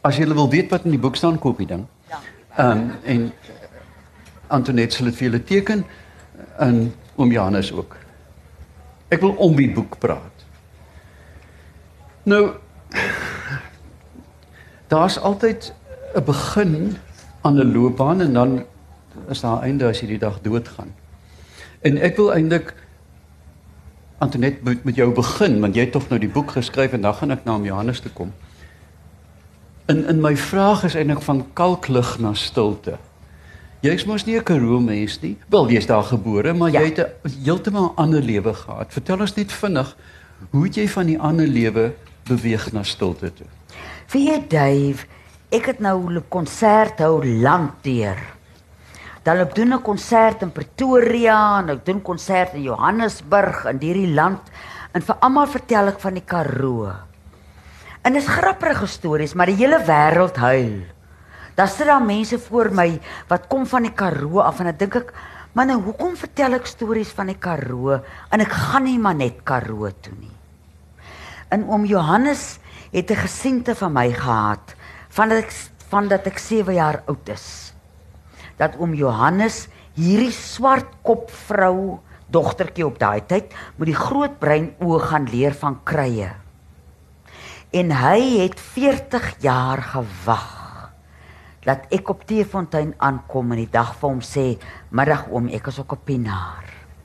as jy wil weet wat in die boek staan, koop die ding. En Antoinette sal dit vir julle teken, en oom Johannes ook. Ek wil om die boek praat. Nou, daar's altyd 'n begin aan 'n loopbaan en dan is daar 'n einde as jy die dag doodgaan. En ek wil eintlik Antoinette met jou begin, want jy het tog nou die boek geskryf en dan gaan ek na oom Johannes toe kom. In my vraag is eintlik van kalklig na stilte. Jy is mos nie 'n Karoo mens nie. Wel, jy's daar gebore, maar jy het 'n heeltemal ander lewe gehad. Vertel ons net vinnig, hoe het jy van die ander lewe beweeg na stilte toe? Weet jy, Dave, ek het nou 'n konsert hou landdeur. Dan ek doen 'n konsert in Pretoria, en ek doen konsert in Johannesburg, in hierdie land, en vir almal vertel ek van die Karoo. En dis grappige stories, maar die hele wêreld huil. Daar sit daar mense voor my wat kom van die Karoo af en dan dink ek, maar nou hoekom vertel ek stories van die Karoo en ek gaan nie maar net Karoo toe nie. En oom Johannes het 'n gesiente van my gehad van dat ek 7 jaar oud is. Dat oom Johannes hierdie swartkop vrou, dogtertjie op daai tyd, met die groot brein oë gaan leer van krye. En hy het 40 jaar gewag dat ek op Teefontein aankom en die dag vir hom sê, middag oom, ek is ook op Pienaar.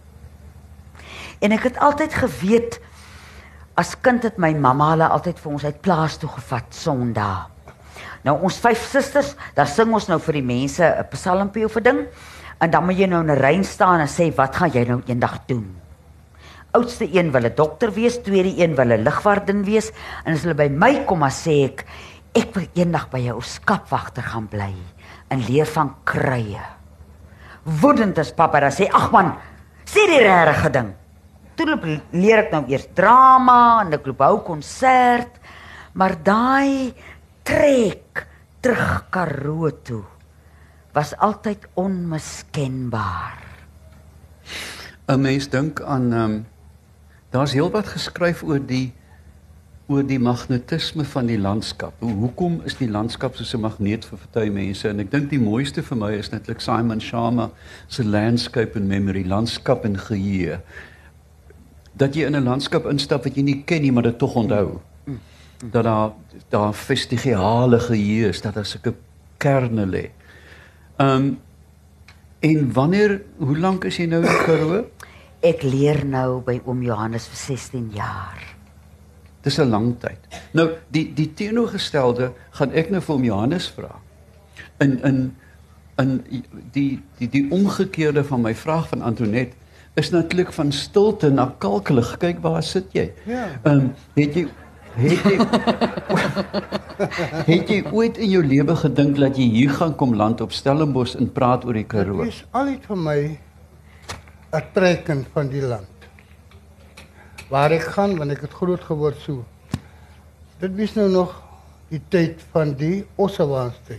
En ek het altyd geweet, as kind het my mamma hulle altyd vir ons uit plaas toe gevat, Sondag. Nou ons 5 susters, daar sing ons nou vir die mense 'n psalmpie of 'n ding, en dan moet jy nou in 'n ry staan en sê, wat gaan jy nou eendag doen? Oudste een wil 'n dokter wees, tweede een wil 'n lugwagdin wees, en as hulle by my kom, dan sê ek wil eendag by jou skapwagter gaan bly en leer van krye. Woedend is papa, dan sê, ag man, sê die regte ding. Toe leer ek nou eers drama, en ek loop hou konsert, maar daai trek terug Karoo toe was altyd onmiskenbaar. 'n Mens dink aan, daar's heelwat geskryf oor die magnetisme van die landskap. Hoekom is die landskap soos 'n magneet vir party mense? En ek dink die mooiste vir my is netlik Simon Sharma se Landscape and Memory, landskap en geheue. Dat jy in 'n landskap instap wat jy nie ken nie, maar dit tog onthou. Dat daar vestigiale geheue is, dat daar sulke kerne lê. En hoe lank is jy nou in Karoo? Ek leer nou by oom Johannes vir 16 jaar. Dis 'n lang tyd. Nou, die teenoorgestelde gaan ek nou vir oom Johannes vra. In die omgekeerde van my vraag van Antoinette is natuurlik van stilte na kalkelig. Kyk, waar sit jy? Ja. Het jy ooit in jou lewe gedink dat jy hier gaan kom land op Stellenbosch en praat oor die Karoo? Dit is altyd vir my 'n teken van die land. Waar ek gaan, want ek het groot geword so. Dit was nou nog die tyd van die Ossewaans tyd.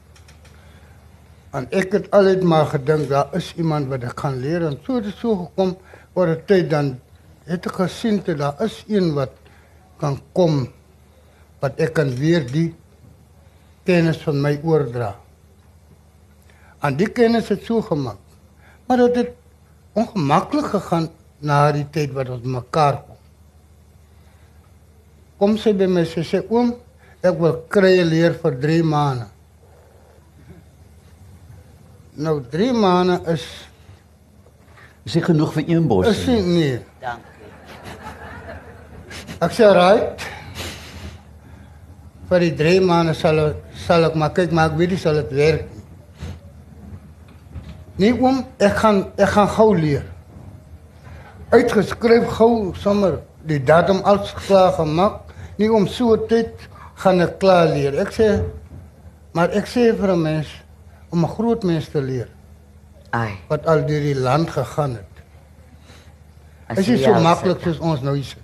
En ek het altyd maar gedink, daar is iemand wat ek kan leer. En so het het so gekom, oor 'n tyd dan het ek gesien dat daar is een wat kan kom, wat ek kan weer die kennis van my oordra. En die kennis het so gemaak. Maar dat het ongemaklik gegaan na die tyd wat ons mekaar kom. Kom sy by my, sy sê, oom, ek wil krye leer vir 3 maande. Nou 3 maande is Is nie genoeg vir een bos is nie, nee. Dankie. Ek sê, right, vir die 3 maande sal ek maar kyk, maar ek weet nie sal het werk nie. Nee oom, ek gaan gou leer. Uitgeskryf gou, sommer die datum alles klaar gemaak. Nie om so 'n tyd gaan ek klaar leer. Maar ek sê vir 'n mens, om 'n groot mens te leer, Ai, wat al deur die land gegaan het. as Is jy nie so al maklik sit. soos ons nou hier sit.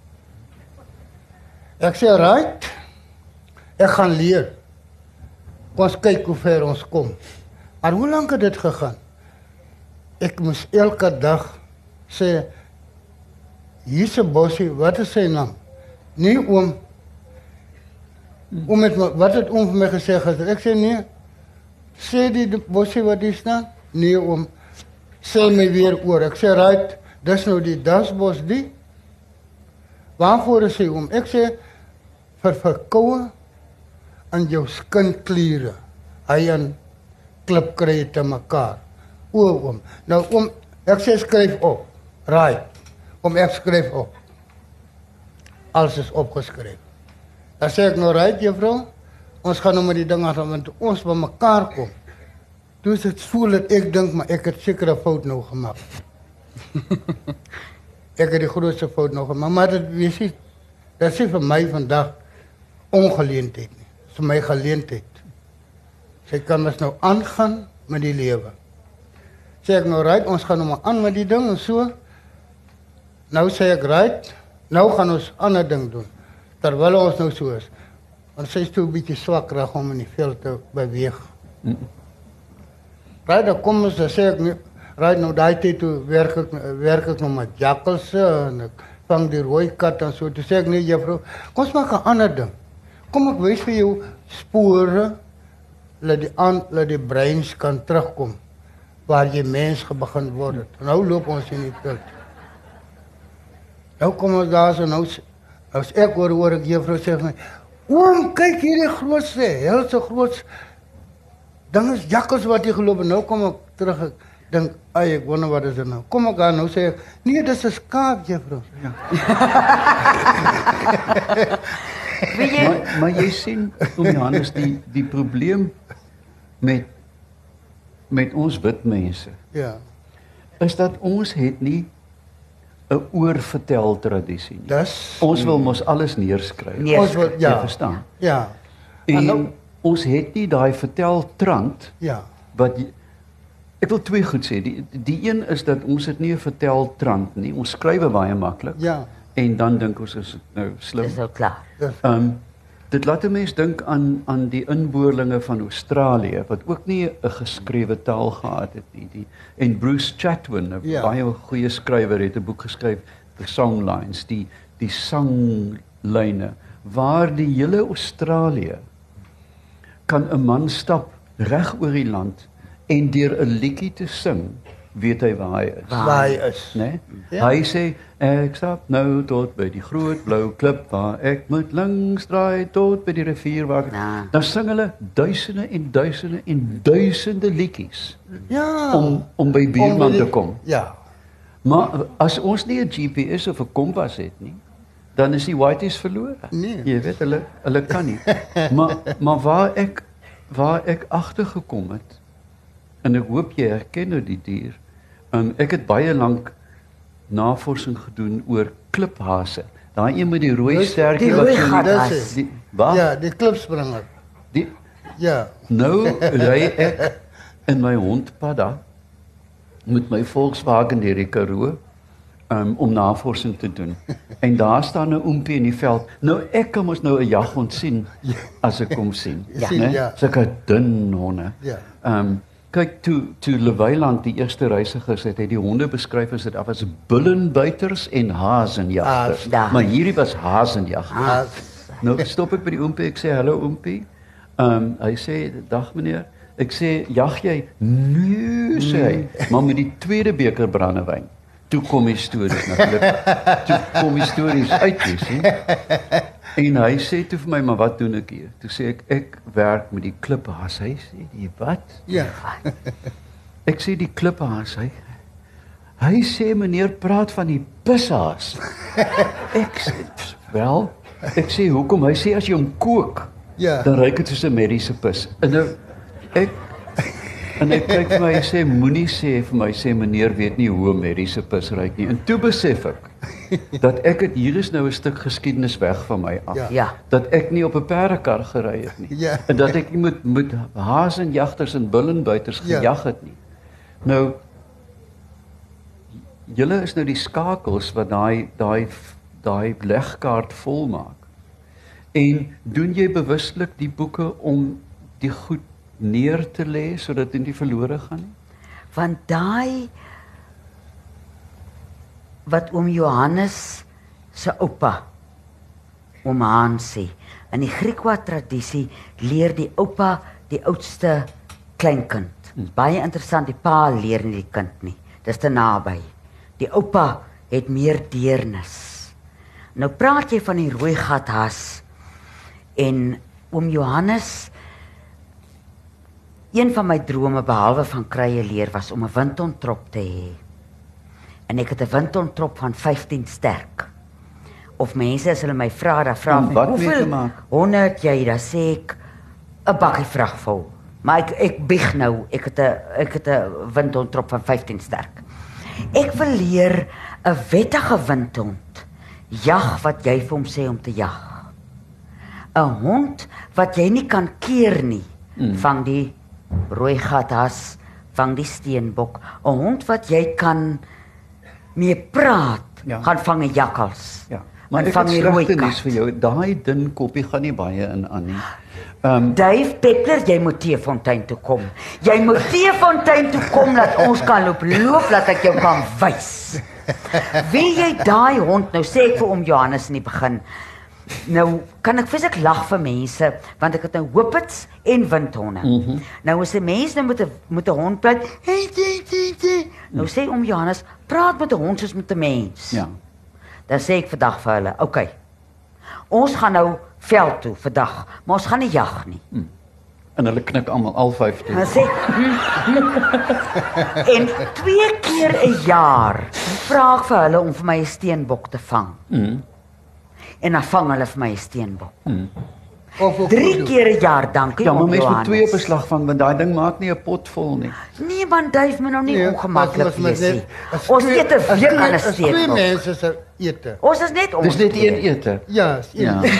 Ek sê, right, ek gaan leer. Kom ons kyk hoe ver ons kom. Maar hoe lank het dit gegaan? Ek moes elke dag sê, hier's 'n bossie, wat is sy naam? Nee oom, Wat het oom vir my gesê het. Ek sê nee. Sê die bosie wat hier staan? Nee oom. Sê my weer oor. Ek sê right, dis nou die dasbos die. Waarvoor is hy oom? Ek sê vir verkoue aan jou skinkliere. Hy en klip kry te mekaar. Oom. Nou oom, ek sê skryf op. Right. Om ek skryf op. Alles is opgeskryf. Dan sê ek nou right juffrou, ons gaan nou met die ding aan, want ons by mekaar kom. Toe is dit so dat ek dink, maar ek het seker 'n fout nou gemaak. Ek het die grootste fout nou gemaak, maar dit is nie vir my vandag ongeleentheid nie. Dit is vir my geleentheid. Sy kan ons nou aangaan met die lewe. Sê ek nou right, ons gaan nou maar aan met die ding en so. Nou sê ek right, nou gaan ons ander ding doen. Terwyl ons nou so is. Want sy is toe 'n bietjie swak reg om in die veld te beweeg. Right, dan kom ons, dan sê ek, right, nou daai tyd toe werk ek nog met jakkalse en ek vang die rooi kat en so. Toe sê ek, nee juffrou, kom ons maak 'n ander ding. Kom ek wys vir jou spore, laat die breins kan terugkom, waar jy mens begin word het. Nou loop ons in die veld. Nou kom ons daar so, nou as ek hoor ek juffrou sê vir my, oom, kyk hierdie grootste, helse groot ding is jakkals wat hier geloop en nou kom ek terug, ek dink, ek wonder wat is dit nou. Kom ek aan, nou sê ek, nee, dis 'n skaap, juffrou. Ja. Maar jy sien, oom Johannes, die probleem met ons wit mense, Ja. is dat ons het nie 'n oorvertel tradisie nie. Ons wil mos alles neerskryf. Ons wil, ja. Jy verstaan? Ja. En ons het nie daai verteltrand Ja. wat ek wil twee goed sê. Die een is dat ons het nie 'n verteltrand nie. Ons skryf baie maklik. Ja. En dan dink ons is nou slim. Dis nou klaar. Dit laat 'n mens dink aan die inboorlinge van Australië wat ook nie 'n geskrewe taal gehad het nie. En Bruce Chatwin, 'n baie goeie skrywer, het 'n boek geskryf, The Songlines, die sanglyne waar die hele Australië kan 'n man stap reg oor die land en deur 'n liedjie te sing, weet hy waar hy is. Waar hy is. Nee? Ja. Hy sê, ek stap nou tot by die groot blou klip waar ek moet langs draai tot by die rivier waar ek... Ja. Dan sing hulle duisende en duisende en duisende liedjies Ja. om by buurman te kom. Ja. Maar as ons nie 'n GPS of 'n kompas het nie, dan is die whiteys verlore. Nee. Jy weet, hulle kan nie. maar waar ek agtergekom het, en ek hoop jy herken nou die dier, ek het baie lank navorsing gedoen oor kliphase. Daai een met die rooi stertjie wat so waar? Ja, die klipspringer. Ja. Nou ry ek in my hond Padda met my Volkswagen deur die Karoo om navorsing te doen. En daar staan 'n oompie in die veld. Nou ek kan mos nou 'n jaghond sien as ek hom sien. Ja. Sulke dun honde. Ja. Kyk toe Leweiland die eerste reisigers het die honde beskryf as dit as bullenbuiters en hazenjagters. Maar hierdie was hazenjagters. Nou stop ek by die oompie, ek sê hallo oompie. Hy sê dag meneer. Ek sê jag jy? Nee sê hy, maar met die tweede beker brandewyn. Toe kom die stories natuurlik. Toe kom die stories uit, jy sien. En hy sê toe vir my, maar wat doen ek hier? Toe sê ek werk met die kliphaas. Hy sê, die wat? Ja. Ek sê die kliphaas, hy sê meneer praat van die pishaas. Ek sê, wel, ek sê hoekom? Hy sê as jy hom kook, dan ruik dit soos 'n mediese pis. En nou En ek kyk vir my en sê, moenie sê vir my, sê meneer weet nie hoe 'n mediese pis ruik nie. En toe besef ek, dat ek het hier is nou 'n stuk geskiedenis weg van my af. Ja. Dat ek nie op 'n perdekar gery het nie. Ja. En dat ek nie met hazenjagters en bullenbuiters gejag het nie. Nou, julle is nou die skakels wat daai legkaart volmaak. En doen jy bewuslik die boeke om die goed neer te lê sodat dit nie verlore gaan nie? Want daai wat oom Johannes se oupa oom Hansie. In die Griekwa tradisie leer die oupa die oudste kleinkind. Baie interessant, die pa leer nie die kind nie. Dis te naby. Die oupa het meer deernis. Nou praat jy van die rooi gathas en oom Johannes, een van my drome behalwe van krye leer was om 'n windontrop te hê. En ek het 'n windontrop van 15 sterk. Of mense as hulle my vra, dan vra En my, wat mee te hoeveel maak? honde het jy? Dan sê ek 'n bakkie vrag vol. Maar ek bieg nou, ek het 'n windhondtrop van 15 sterk. Ek wil leer 'n wettige windhond jag wat jy vir hom sê om te jag. 'n Hond wat jy nie kan keer nie, vang die rooi gathas, vang die steenbok. 'n Hond wat jy kan mee praat, Ja. gaan vang 'n jakkals. Ja. Maar En ek vang het die rooi slegte nuus kat. vir jou. Daai dun koppie gaan nie baie in aan nie. Dave Peppler, jy moet Teefontein toe kom. Jy moet Teefontein toe kom dat ons kan loop, dat ek jou kan wys. Wie jy daai hond, nou sê ek vir oom Johannes in die begin, nou kan ek fisiek lag vir mense, want ek het nou hoopits en windhonde. Nou as 'n mens nou met 'n hond praat, nou sê oom Johannes, praat met 'n hond soos met 'n mens. Ja. Dan sê ek vandag vir hulle, okay, ons gaan nou veld toe vandag, maar ons gaan nie jag nie. En hulle knik almal al 15. Dan sê en 2 keer 'n jaar vra ek vir hulle om vir my 'n steenbok te vang. En dan vang hulle vir my 'n steenbok. Of 3 keer 'n jaar, dankie Ja, maar oom mens moet 2 Johannes. beslag vang want daai ding maak nie 'n pot vol nie. Nee man, Duif my nou nie Nee, ongemaklik maar wees nie. as Ons twee- eet 'n as week twee- aan 'n as twee steenbok. mense se ete. Ons is net ons. Dis net twee. een ete. Ja, is een Ja.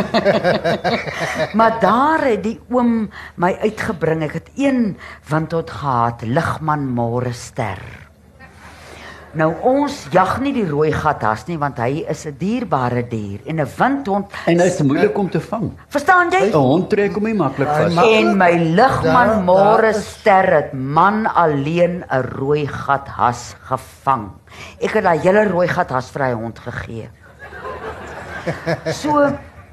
Maar daar het die oom my uitgebring. Ek het een windhond gehad, Ligman Morester. Nou ons jag nie die rooi gathas nie, want hy is 'n dierbare dier en 'n windhond. En dit is moeilik om te vang. Verstaan jy? 'n Hond trek hom nie maklik Hy vas. mag- En my Ligman Daar Morester het man alleen 'n rooi gathas gevang. Ek het daai hele rooi gathas vir hy hond gegee. So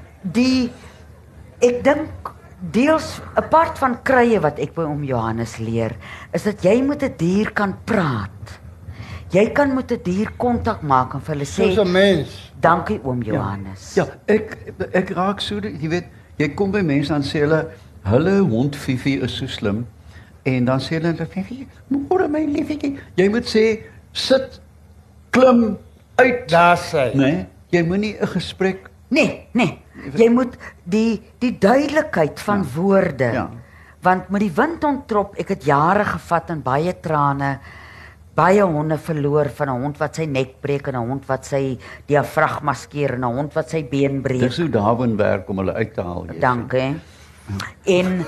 ek dink deels apart van krye wat ek by oom Johannes leer, is dat jy met 'n dier kan praat. Jy kan met 'n dier kontak maak en vir hulle Soos sê, 'n mens. dankie oom Johannes. Ja, ek raak so, jy weet, jy kom by mense dan sê hulle hond Fifi is so slim en dan sê hulle Fifi, môre my liefie, jy moet sê sit, klim uit. Daar sê. Nee, jy moenie 'n gesprek. Nee. Jy moet die duidelikheid van woorde. Ja. Want met die windhondtrop, ek het jare gevat en baie trane, baie honde verloor, van 'n hond wat sy nek breek en 'n hond wat sy diafragma skeer en 'n hond wat sy been breek. Dis hoe Darwin werk om hulle uit te haal. jy sien. Dankie. En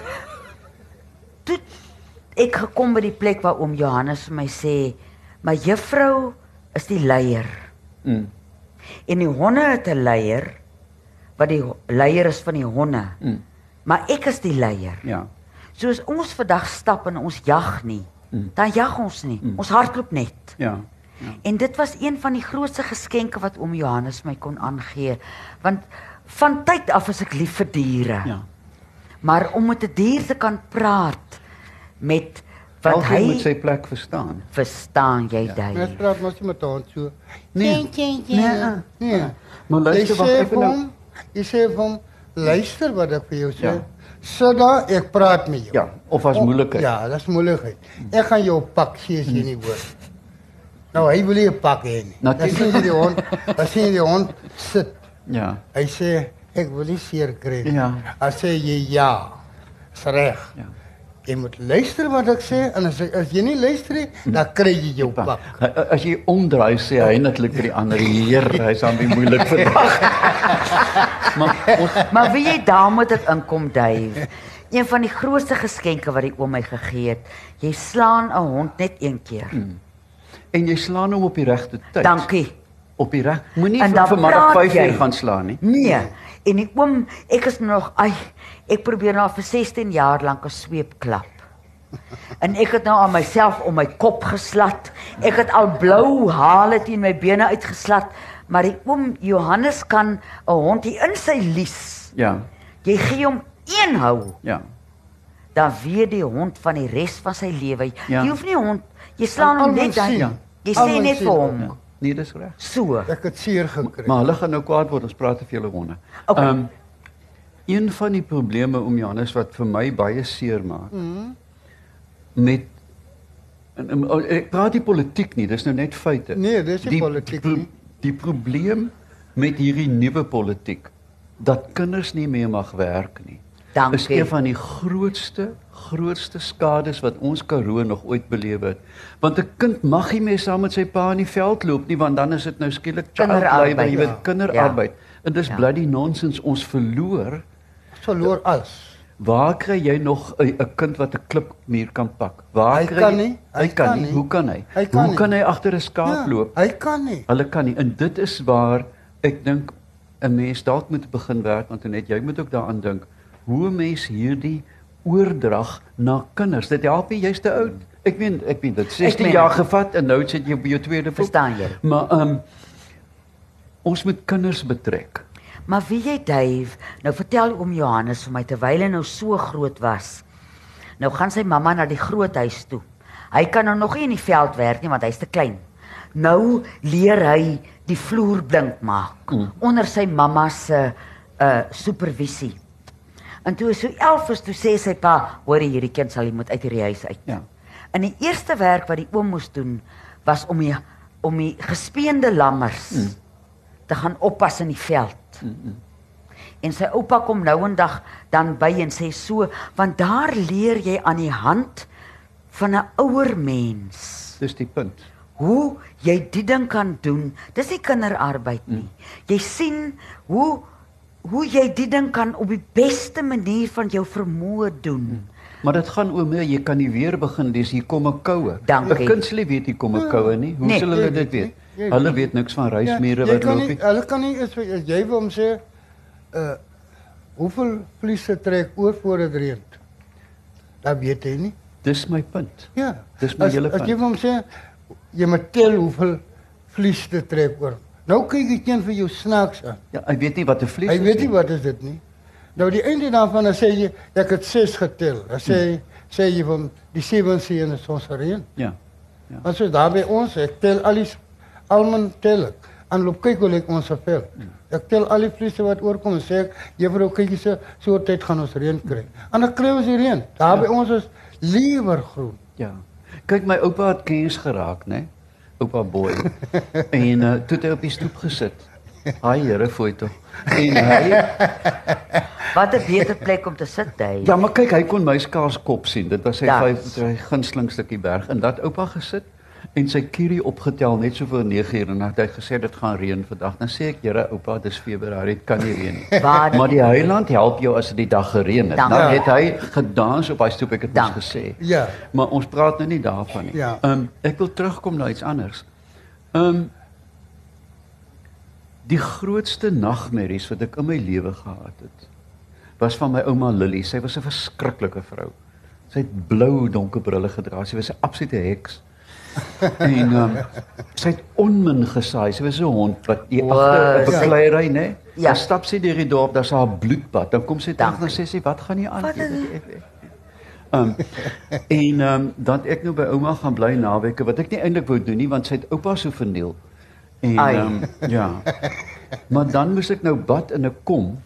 toe ek gekom by die plek waar oom Johannes vir my sê, "Maar juffrou is die leier." Mm. En die honde het 'n leier wat die leier is van die honde. Maar ek is die leier. Ja. Soos ons vandag stap en ons jag nie, dan jag ons nie. Ons hardloop net. Ja. En dit was een van die grootste geskenke wat oom Johannes my kon aangee, want van tyd af is ek lief vir diere. Ja. Maar om met 'n dier te kan praat met wat Elkeen hy moet sy plek verstaan. verstaan jy Mens dit. praat mos nie met 'n hond so. Nee. Nee. Maar Jy luister, wag sê ek vir nou. hom, jy sê vir hom, luister wat ek vir jou sê. Ja. Sit daar, ek praat met jou. Ja, of as moeilikheid. Ja, dis moeilikheid. Ek gaan jou pak, sê as jy nie hoor. Nou, hy wil nie 'n pak hê nie. Dan Natuurlijk. sien jy die hond, dan sien jy die hond sit. Ja. Hy sê, ek wil nie seer kry nie. Ja. Dan sê jy ja. Is reg. Ja. Jy moet luister wat ek sê en as jy nie luister nie, dan kry jy jou pak. As jy omdraai sê hy netlik vir die ander, Heer, hy's aan die moeilik vandag. Maar ons Maar wie jy daar moet ek inkom, Dave. Een van die grootste geskenke wat die oom my gegee het. Jy slaan 'n hond net een keer. en jy slaan hom op die regte tyd. Dankie. Op die reg. Moenie En dan vanmiddag praat 5 jy. uur gaan slaan nie. Nee. En die oom, ek is nog, ek probeer nou vir 16 jaar lank 'n sweep klap. En ek het nou aan myself om my kop geslat. Ek het al blou hale teen my bene uitgeslat, Maar die oom Johannes kan 'n hond hier in sy lies. Ja, Jy gee hom een hou, ja. dan weet die hond van die res van sy lewe. Ja. Jy hoef nie hond, jy slaan hom Almal net dan. sien. Jy sê Almal net sien. vir hom. Ja. Nee, dis reg. So. Ek het seer gekry. Maar hulle gaan nou kwaad word, ons praat te veel oor honde. Okay. Een van die probleme om Johannes wat vir my baie seer maak, met ek praat nie politiek nie, dis nou net feite. Nee, dis nie politiek nie. Die probleem met hierdie nuwe politiek, dat kinders nie meer mag werk nie, Dankie. is een van die grootste skades wat ons Karoo nog ooit beleef het. Want 'n kind mag nie meer saam met sy pa in die veld loop nie, want dan is dit nou skielik child Kinderarbeid, labour, jy weet, ja. kinderarbeid. En dis Ja. bloody nonsens, ons verloor. Verloor alles. Waar kry jy nog 'n kind wat 'n klipmuur kan pak? Waar Hy kry kan jy- nie. Hy kan nie. Hoe kan hy? Hy kan Hoe nie. kan hy agter 'n skaap loop? Hy kan nie. Hulle kan nie. En dit is waar ek dink 'n mens dalk moet begin werk, want net jy moet ook daaraan dink hoe 'n mens hierdie oordrag na kinders. Dit help nie, jy's te oud. Ek meen dit 16 meen jaar dit. gevat en nou sit jy op jou tweede boek. Verstaan jy? Maar ons moet kinders betrek. Maar wie jy Dave, nou vertel oom Johannes vir my terwyl hy nou so groot was. Nou gaan sy mamma na die groothuis toe. Hy kan nou nog nie in die veld werk nie want hy's te klein. Nou leer hy die vloer blink maak onder sy mamma se supervisie. En toe hy so 11 is, toe sê sy pa, hoor jy, hierdie kind sal jy moet uit hierdie huis uit. Ja. En die eerste werk wat die oom moes doen was om die gespeende lammers te gaan oppas in die veld. En sy oupa kom nou en dag dan by en sê so, want daar leer jy aan die hand van 'n ouer mens Dis die punt. hoe jy die ding kan doen. Dis nie kinderarbeid nie. Jy sien hoe jy die ding kan op die beste manier van jou vermoë doen. Maar dit gaan oor meer, jy kan nie weer begin, dis hier kom 'n koue. Dankie. 'n Kind sal nie weet hier kom 'n koue nie. Hoe Nee. sal hulle Jy dit weet weet? nie. Jy Hulle weet weet niks van reismure jy wat kan loop nie, nie. hulle kan nie as jy wil hom sê hoeveel vliese trek oor voor dit reën. Dat weet hy nie. Dis my punt. Ja. Dis my hele As jy punt. hom sê jy moet tel hoeveel vliese trek oor. Nou kyk ek een vir jou snaaks aan. Ja, hy weet nie wat 'n vlies Hy is weet nie wat is dit nie. Nou die einde daarvan dan sê jy ek het 6 getel. Dan sê jy van die 7 seën is ons reën. Ja. Want so daar by ons, ek tel almal tel ek. En loop kyk hoe lyk ons vel. Ek tel al die vliese wat oorkom en sê ek, juffrou kyk so tyd gaan ons reën kry. En dan kry ons die reën. Daar by ons is lewergroen. Ja. Kyk, my oupa het kens geraak, né? Oupa Boy. En toe het hy op die stoep gesit. Haai Here, fooi tog. En hy Wat 'n beter plek om te sit, Dave. Ja, maar kyk, hy kon my skaars kop sien. Dit was sy Dat. sy gunsteling stukkie berg en dat oupa gesit en sy kierie opgetel net so voor 9:00 en hy het gesê dit gaan reën vandag. Dan sê ek, Here, oupa, dis Februarie, dit kan nie reën nie. Waar- Maar die heiland help jou as dit die dag gereën het. Dank. Dan Ja. het hy gedans op hy stoep, ek het mos Dank. gesê. Ja. Maar ons praat nou nie daarvan nie. Ja. Ek wil terugkom na iets anders. Die grootste nagmerries wat ek in my lewe gehad het, was van my ouma Lily. Sy was 'n verskriklike vrou. Sy het blou donker brille gedra. Sy was 'n absolute heks. En sy het onmin gesaai. Sy was so 'n hond wat jy agter 'n Wow, bekleierery, né? Ja. Dan stap sy deur die dorp, daar's haar bloedbad. Dan kom sy terug Dankie. en sê sy, "Wat gaan nie aan Wat nie?" is- Dan het ek nou by ouma gaan bly naweke wat ek nie eintlik wou doen nie want sy het oupa so verniel. En Ai. ja. Maar dan moes ek nou bad in 'n kom.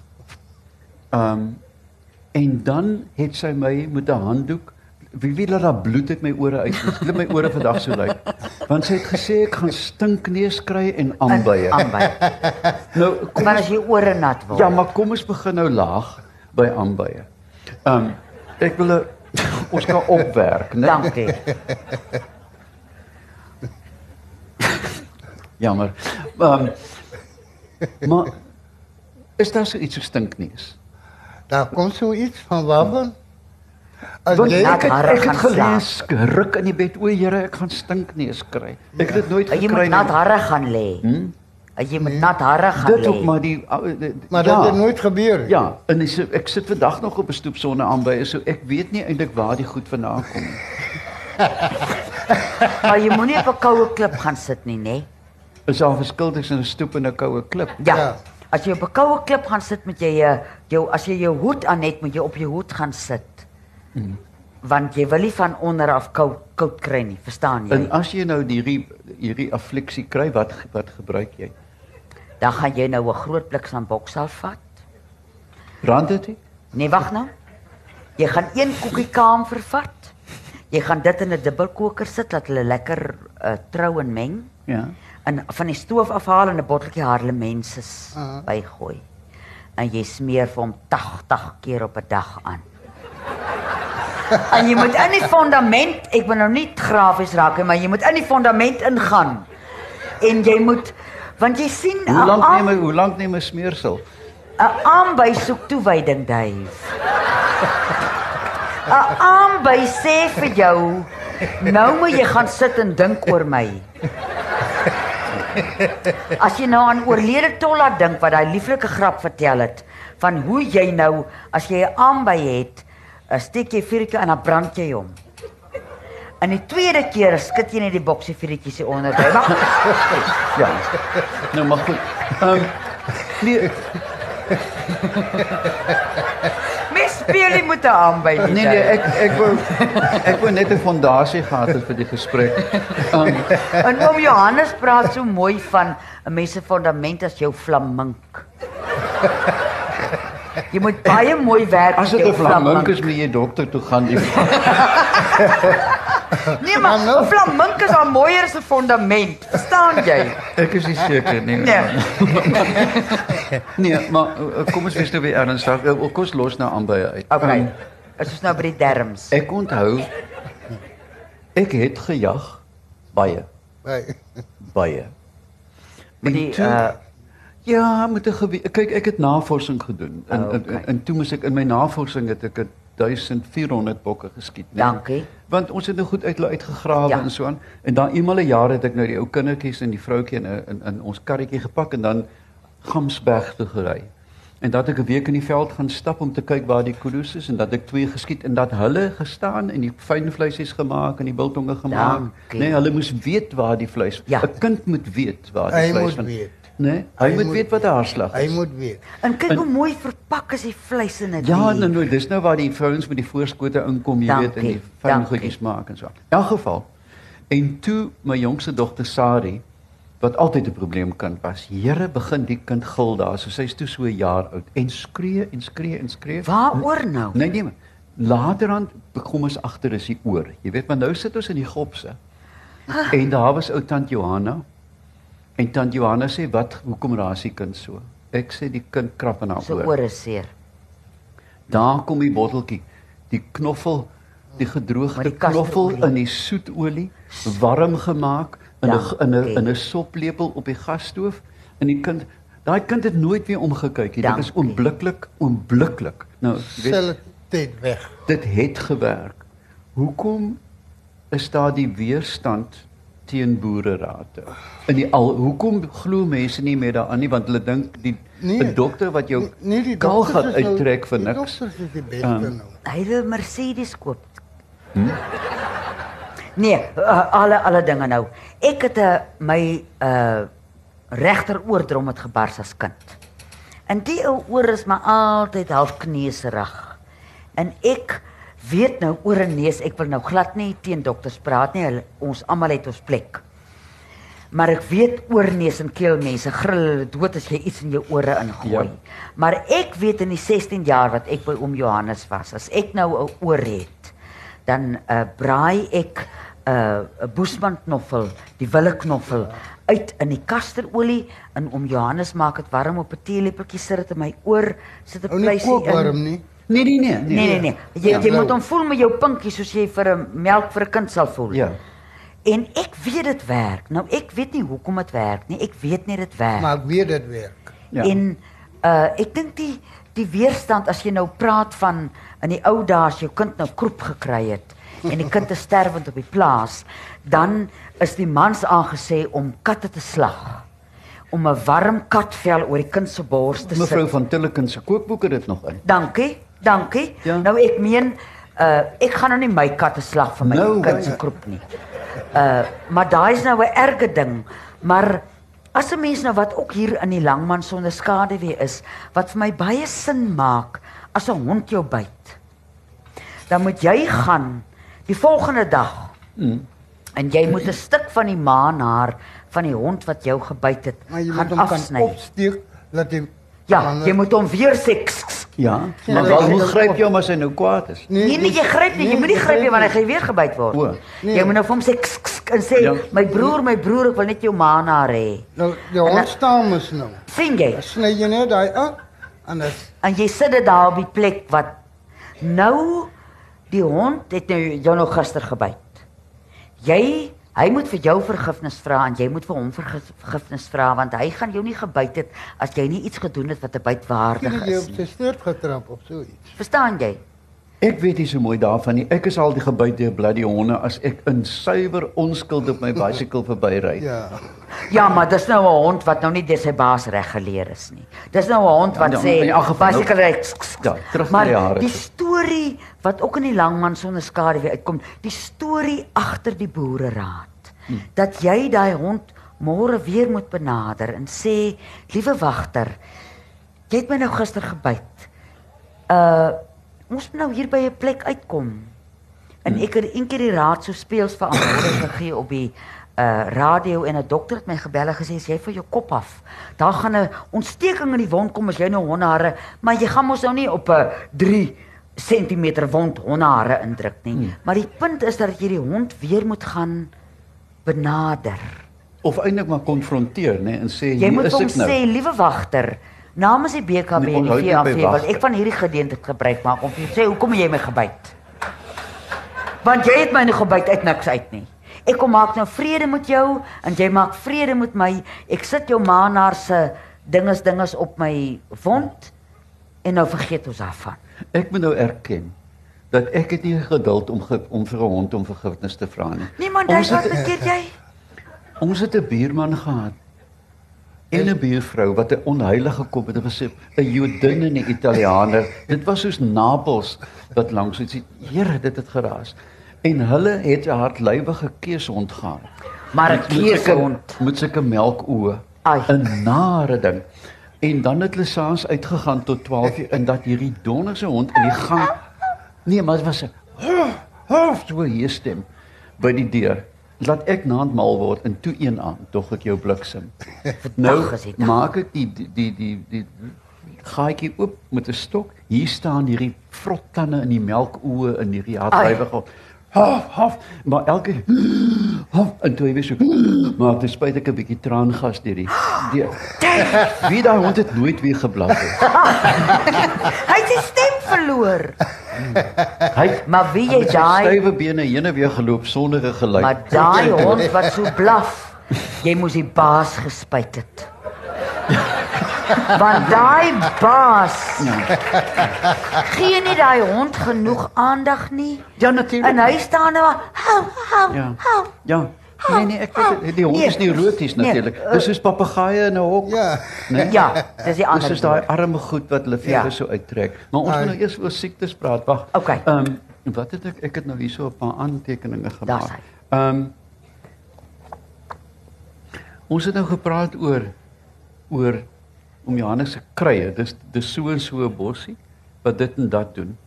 En dan het sy my met 'n handdoek wie weet dat daar bloed uit my ore uit. Dit my ore vandag so lyk. Want sy het gesê ek gaan stinkneus kry en aanbye. Aanbei. Nou kom Maar ons, as jy ore nat word. ja, maar kom ons begin nou laag by aanbye. Ek wil ons kan opwerk, né? Dankie. Jammer. Maar is daar so iets so stinkneus? Daar kom so iets van waarvan? As Want jy ek hare het gaan gelees, ruk in die bed, o Here, ek gaan stinkneus kry. Ek het dit nooit Jy gekry moet nie. nat hare gaan lê. Jy moet nat hare gaan Dit ook lê. maar die maar ja, dit het nooit gebeur. nie. Ja, en ek sit vandag nog op 'n stoep sonder aanbye, so ek weet nie eintlik waar die goed vandaan kom nie. Maar jy moenie op 'n koue klip gaan sit nie, né? Is daar 'n verskil tussen 'n stoep en 'n koue klip? Ja. Ja. As jy op 'n koue klip gaan sit met jy as jy jou hoed aan het, moet jy op jou hoed gaan sit. Want jy wil nie van onder af koud kry nie, verstaan jy? En as jy nou hierdie affliksie kry, wat gebruik jy? Dan gaan jy nou 'n groot blik samboksal vat. Brand dit nie? Nee, wag nou. Jy gaan 1 koekie kamfer vat. Jy gaan dit in 'n dubbelkoker sit dat hulle lekker trou en meng. Ja. En van die stoof afhaal en 'n botteltjie Harlemenses bygooi. En jy smeer vir hom 80 keer op 'n dag aan. En jy moet in die fondament, ek wil nou nie grafies raak nie, maar jy moet in die fondament ingaan. En jy moet, want jy sien Hoe lank neem 'n smeersel? 'n aanby soek toewyding, Dave. 'n aanby sê vir jou, nou moet jy gaan sit en dink oor my. As jy nou aan oorlede Tolla dink wat daai lieflike grap vertel het van hoe jy nou as jy 'n aanby het, steek jy vuurtjie en dan brand jy hom. En die tweede keer skud jy net die boksie vuurtjies hier onder. Ja. Nou maar goed. Nee, Mens speel nie met 'n aanby nie. nee, ek wou net 'n fondasie gehad het vir die gesprek. En oom Johannes praat so mooi van 'n mens se fondament as jou flamink. Jy moet baie mooi werk As met dit jou 'n flamink is, moet jy dokter toe gaan. Nee, maar 'n flamink is al mooier as 'n fondament. Verstaan jy? Ek is nie seker nie. Nee. Nee, maar kom ons wees nou weer ernstig. Kom ons los nou aanbye uit. Okay. Dit is nou by die derms. Ek onthou ek het gejag baie. Baie. Met die Ja, met 'n kyk, ek het navorsing gedoen Okay. en toe moes ek in my navorsing het ek 1400 bokke geskiet, né? Dankie. Want ons het nou goed uitgegrawe Ja. en so aan. En dan eenmal 'n jaar het ek nou die ou kindertjies en die vroutjie in ons karretjie gepak en dan Gamsberg toe gery. En dat ek 'n week in die veld gaan stap om te kyk waar die kudu's is en dat ek 2 geskiet en dat hulle gestaan en die fyn vleisies gemaak en die biltonge gemaak. Dankie. Nee, hulle moes weet waar die vleis. Ja. 'n Kind moet weet waar die Hy vleis moet van. weet. Nee, hy moet weet wat 'n haarslag Hy is. moet weet. En kyk hoe mooi verpak is die vleis in dit. Ja, nou, dis nou waar die vrouens met die voorskote inkom, jy weet, en die fyn Dankie. goedjies maak en so. In elk geval. En toe my jongste dogter Sari, wat altyd 'n probleemkind was. Here, begin die kind gil daar, so sy's toe so 'n jaar oud en skree en skree en skree. Waaroor nou? Nee, maar laterand kom ons agter is die oor. Jy weet, maar nou sit ons in die gopse. En daar was ou tant Johanna. En tant Johanna sê, hoekom raas die kind so? Ek sê die kind krap in haar So oor. oor is seer. Daar kom die botteltjie, die knoffel, die Maar gedroogde die knoffel kasterolie. in die soetolie, warm gemaak in 'n Dankie. in 'n soplepel op die gasstoof en die kind, daai kind het nooit weer omgekyk nie. Dit is Dankie. onblikklik. Nou, jy weet, Stel tyd weg. dit het gewerk. Hoekom is daar die weerstand teen boererate? Hoekom glo mense nie meer daaraan nie, want hulle dink 'n dokter wat jou die kaalgat dokters is nou- uittrek vir Die niks. dokters is die beste nou. Hy wil Mercedes koop. Nee, alle dinge nou. Ek het my regteroordrom het gebars as kind. En die ou oor is maar altyd half kneserig. En ek weet nou oor en neus, ek wil nou glad nie teen dokters praat nie. Ons almal het ons plek. Maar ek weet oorneus en keelmense gril hulle dood as jy iets in jou ore ingooi. Ja. Maar ek weet in die 16 jaar wat ek by oom Johannes was, as ek nou 'n oor het, dan braai ek 'n boesmanknoffel, die willeknoffel uit in die kasterolie en oom Johannes maak dit warm op 'n teelepeltjie, sit dit in my oor, sit 'n Ou nie pleisie kook in. warm nie. Nee. Jy moet hom voel met jou pinkie soos jy vir 'n melk vir 'n kind sal voel. Ja. En ek weet dit werk. Nou ek weet nie hoekom dit werk nie. Ek weet net dit werk. Maar ek weet dit werk. Ja. En ek dink die weerstand as jy nou praat van in die ou dae as jou kind nou kroep gekry het en die kind is sterwend op die plaas, dan is die mans aangesê om katte te slag. Om 'n warm katvel oor die kind se bors te sit. Mevrou van Tilleken se kookboek het dit nog in. Dankie. Ja. Nou ek meen ek gaan nou nie my katte slag vir my Nou, kind se kroep nie. Maar daai is nou 'n erge ding, maar As 'n mens nou wat ook hier in die Langman sonder skaduwee is, wat vir my baie sin maak as 'n hond jou byt, dan moet jy gaan die volgende dag en jy moet 'n stuk van die maanhaar van die hond wat jou gebyt het Maar jy moet gaan hom kan afsny. opsteek, laat hy... Ja, jy moet hom weer sê Ja, maar wel, hoe gryp jy hom as hy nou kwaad is? nee, jy gryp nie, jy moet nie gryp nie want hy gaan weer gebyt word. O, Jy moet nou vir hom sê en sê, Ja. my broer, ek wil net jou maanhaar hê. Nou, die hond staan mos nou. Sien jy? Dan sny jy net daai af, en dan... En jy sit dit daar op die plek wat nou die hond het nou jou nog gister gebyt. Hy moet vir jou vergifnis vra en jy moet vir hom vergifnis vra want hy gaan jou nie gebyt het as jy nie iets gedoen het wat 'n bytwaardig Jy is op nie. sy stert getrap of so iets. Verstaan jy? Ek weet nie so mooi daarvan nie. Ek is al die gebyt deur bloody honde as ek in suiwer onskuld op my bicycle verbyry. Ja. Ja, maar dis nou 'n hond wat nou nie deur sy baas reg geleer is nie. Dis nou 'n hond wat Ja, sê in elk geval, bicycle ry. Ja, terug na Maar die jare. die storie wat ook in die Langman sonder skaduwee uitkom, die storie agter die boereraad. Dat jy daai hond môre weer moet benader en sê, liewe wagter, jy het my nou gister gebyt. Ons moet nou hier by 'n plek uitkom. En ek het eendag die raad so speels verantwoordelik gegee op die radio en 'n dokter het my gebel en gesê as jy vir jou kop af, daar gaan 'n ontsteking in die wond kom as jy nou hondehare, maar jy gaan mos nou nie op 'n 3 centimeter wond hondehare indruk nie. Maar die punt is dat jy die hond weer moet gaan benader. Of eintlik maar konfronteer, né, en sê Jy hier moet is hom ek nou. sê, liewe wagter, namens die BKB Nee, en die onthou net by VAV wil wagter. ek van hierdie geleentheid gebruik maak om vir jou te sê hoekom het jy my gebyt? Want jy het my nie gebyt uit niks uit nie. Ek kom maak nou vrede met jou en jy maak vrede met my. Ek sit jou maanhaar se dinges op my wond en nou vergeet ons daarvan. Ek moet nou erken dat ek het nie geduld om vir 'n hond om vergifnis te vra nie. Nee man, Ons wat het- verkeerd jy? Ons het 'n buurman gehad en 'n buurvrou wat 'n onheilige kop het gesê, 'n Jodin en 'n Italiaaner. Dit was soos Napels wat langs het. Here, dit het geraas. En hulle het 'n hartlywige keeshond gehad. Maar 'n keeshond. Met sulke melkoë. Ai. 'n Nare ding. En dan het hulle saans uitgegaan tot 12:00 en dat hierdie donderse hond in die gang. Nee, maar dit was 'n so hier stem by die deur. Laat ek naand mal word en toe een aan, tog ek jou bliksem. Nou Dag is die dag. maak ek die gaatjie oop met 'n stok. Hier staan hierdie vrottande in die melkoë in hierdie hartlywige. Haf, maar elke haf en toe weer so. Maar ten spyte ek 'n bietjie traangas deur die wie daai hond het nooit weer geblaf het. Hy het sy stem verloor. Hy Maar wie jy met sy daai stywe bene heen en weer geloop sonder 'n geluid. Maar daai hond wat so blaf, jy moes die baas gespuit het. Want daai baas gee nie daai hond genoeg aandag nie. Ja, natuurlik. En hy staan nou, hou. Ja. Nee, ek weet die hond Nee. is neuroties Nee, natuurlik. Dis soos papegaaie in 'n hok. Ja. Nee? Ja, dis die Dis ander. is daai arme goed wat hulle Ja. vere so uittrek. Maar ons moet nou eers oor siektes praat. Wag. Okay. Wat het ek het nou hierso 'n paar aantekeninge Daar's gemaak. hy. Ons het nou gepraat oor om Johannes se krye. Dis so en so 'n bossie wat dit en dat doen.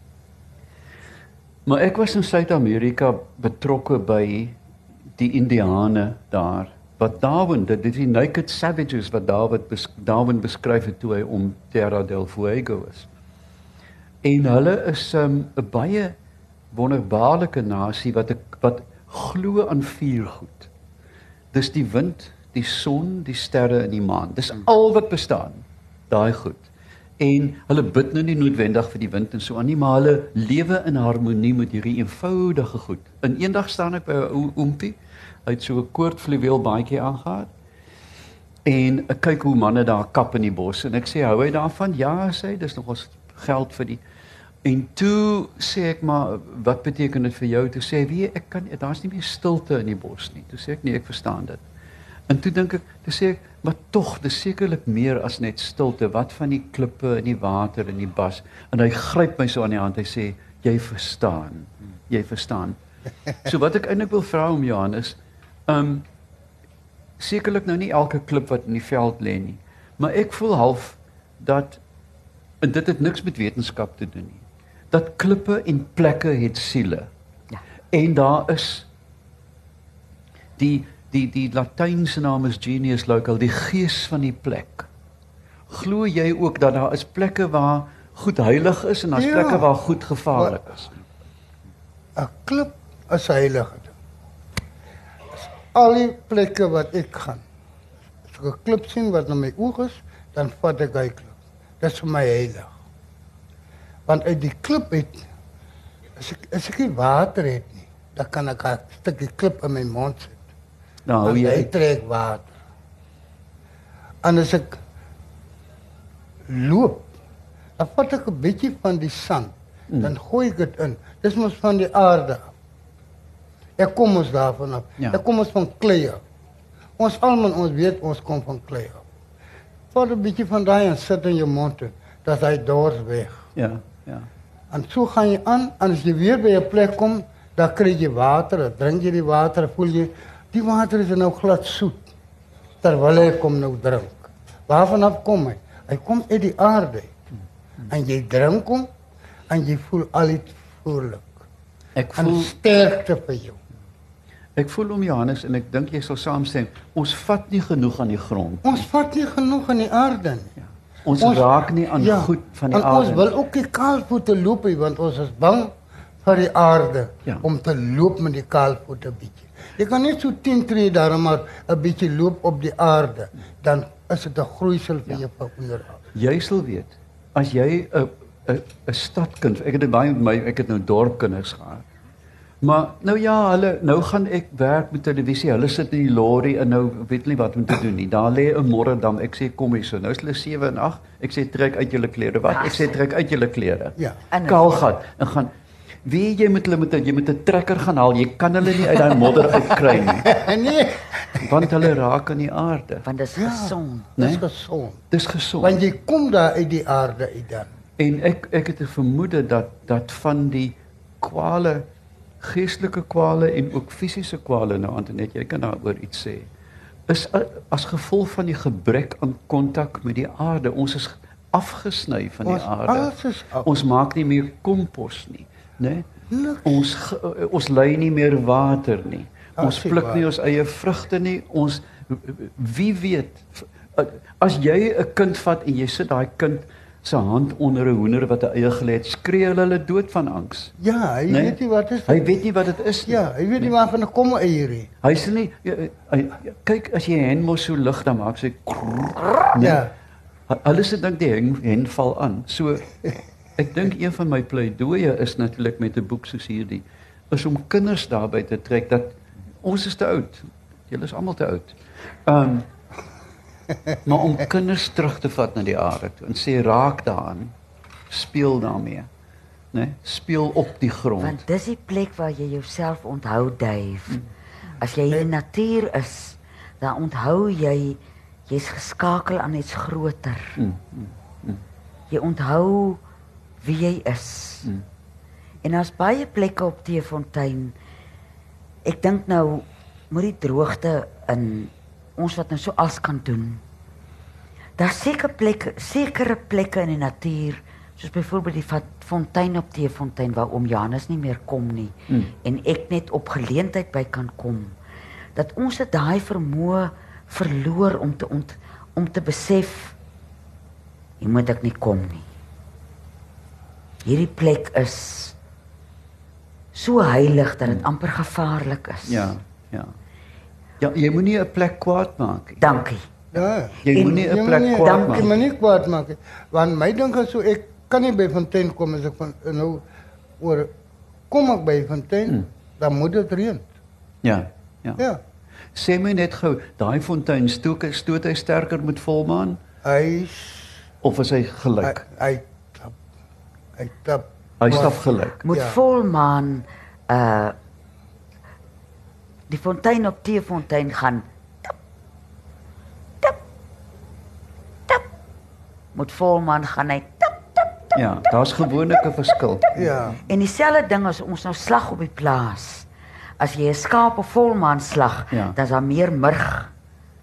Maar ek was in Suid-Amerika betrokke by die Indiane daar. Wat Darwin, dit is die Naked Savages wat Darwin beskryf het toe hy om Terra del Fuego is. En hulle is 'n baie wonderbaarlike nasie wat glo aan 4 goed. Dis die wind, die son, die sterre en die maan. Dis al wat bestaan. Daai goed. En hulle bid nou nie noodwendig vir die wind en so aan nie, maar hulle lewe in harmonie met hierdie eenvoudige goed. En eendag staan ek by 'n ou oompie, hy het so 'n koordfluweel baadjie aangehad. En ek kyk hoe manne daar kap in die bos en ek sê hou hy daarvan? Ja, sê hy, dis nogals geld vir die. En toe sê ek maar wat beteken dit vir jou? Toe sê hy, weet jy, daar's nie meer stilte in die bos nie. Toe sê ek nee, ek verstaan dit. En toe dink ek, toe sê ek, maar tog, dis sekerlik meer as net stilte. Wat van die klippe en die water en die bas? En hy gryp my so aan die hand. Hy sê, jy verstaan. Jy verstaan. So wat ek eintlik wil vra om Johannes, sekerlik nou nie elke klip wat in die veld lê nie, maar ek voel half dat, en dit het niks met wetenskap te doen nie, dat klippe en plekke het siele. Ja. En daar is die Latynse naam is genius local, die gees van die plek. Glo jy ook dat daar is plekke waar goed heilig is en daar's Ja. plekke waar goed gevaarlik is? 'n klip is 'n heilige ding. Al die plekke wat ek gaan, as ek 'n klip sien wat na my oog is, dan vat ek hy klip. Dit is vir my heilig. Want uit die klip uit, as ek nie water het nie, dan kan ek 'n stukkie klip in my mond sit. Nou hou Want jy hy trek water. En as ek loop, dan vat ek 'n bietjie van die sand, dan gooi ek dit in. Dis mos van die aarde af. Ek kom ons daarvan af. Ja. Ek kom ons van klei af. Ons almal ons weet ons kom van klei af. Vat 'n bietjie van daai en sit in jou mond toe, dat hy dors weg. ja. En so gaan jy aan, en as jy weer by 'n plek kom, dan kry jy water, dan drink jy die water, voel jy, die water is nou glad soet, terwyl hy kom nou drink. Waarvan af kom hy? Hy kom uit die aarde. En jy drink hom, en jy voel al iets vrolik. Ek En voel sterkte vir jou. Ek voel om Johannes en ek dink jy sal saamstem, ons vat nie genoeg aan die grond. Ons vat nie genoeg aan die aarde nie. Ons raak nie aan goed van die en aarde. ons wil ook nie kaalvoete loop nie, want ons is bang vir die aarde, Ja. om te loop met die kaalvoete bietjie. Jy kan net so 10 tree daar maar 'n bietjie loop op die aarde, dan is dit 'n groeisel vir jou vir onderhoud. Jy sal weet, as jy 'n stadkind, ek het dit baie met my, ek het nou dorpkinders gehad. Maar nou ja, nou gaan ek werk met televisie. Hulle sit in die lorry en nou weet nie wat om te doen nie. Daar lê 'n Morredam. Ek sê kom hier so. Nou is hulle 7 en 8. Ek sê trek uit julle klere. Wat? Ek sê trek uit julle klere. Ja. En Kaalgat en gaan wie jy met hulle jy moet 'n trekker gaan haal. Jy kan hulle nie uit daai modder uitkry nie, Nee, want hulle raak aan die aarde. want dis ja, gesond. dis Nee? gesond. Dis gesond. Want jy kom daar uit die aarde uit dan. En ek het 'n vermoede dat van die kwale, geestelike kwale en ook fisiese kwale, nou Antoinette, jy kan daaroor iets sê, is as gevolg van die gebrek aan kontak met die aarde. Ons is afgesny van die Ons aarde. alles is af. Ons maak nie meer kompos nie, né? Niks. Ons lei nie meer water nie. Ons As jy pluk waar. nie ons eie vrugte nie. Ons wie weet, as jy 'n kind vat en jy sit daai kind se hand onder 'n hoender wat 'n eie gelê het, skree hulle dood van angs. Ja, hy Nee? weet nie wat is. Hy weet nie wat dit is nie. Ja, hy weet nie waarvan ek kom eier nie. Hy sê nie kyk as jy hen mos so lig dan maak sy krrr, nee. Ja. Hulle se dink die hen val aan. So ek dink een van my pleidooie is natuurlik met 'n boek soos hierdie is om kinders daarby te trek dat ons is te oud. Julle is almal te oud. Maar om kinders terug te vat na die aarde toe en sê raak daaraan, speel daarmee, né? Speel op die grond. Want dis die plek waar jy jouself onthou, Dave. As jy in die natuur is, dan onthou jy jy's geskakel aan iets groter. Jy onthou wie jy is. En daar's baie plekke op Teefontein. Ek dink nou met die droogte in ons wat nou so as kan doen. Daar's sekere plekke in die natuur, soos byvoorbeeld die fontein op Teefontein waar oom Janus nie meer kom nie en ek net op geleentheid by kan kom. Dat ons het daai vermoë verloor om te besef jy moet ek nie kom nie. Hierdie plek is so heilig dat dit amper gevaarlik is. Ja. Ja, jy moenie 'n plek kwaad maak nie. Dankie. Ja. Jy moenie 'n plek kwaad Dankie, maak. maar nie kwaad maak nie. Want my dink is so ek kan nie by Fontein kom as ek van nou oor kom ek by Fontein, dan moet dit reën. Ja. Ja. Sê my net gou, daai fontein stoot hy sterker met volmaan Hy of is hy gelyk? hy tap. Hy stap gelyk. Moet Ja. volmaan die fontein op Teefontein gaan tap, tap, tap. Moet volmaan gaan hy tap. Ja, daar's gewoonlik 'n verskil. Ja. En dieselfde ding as ons nou slag op die plaas. As jy 'n skaap op volmaan slag, Ja. dan is daar meer murg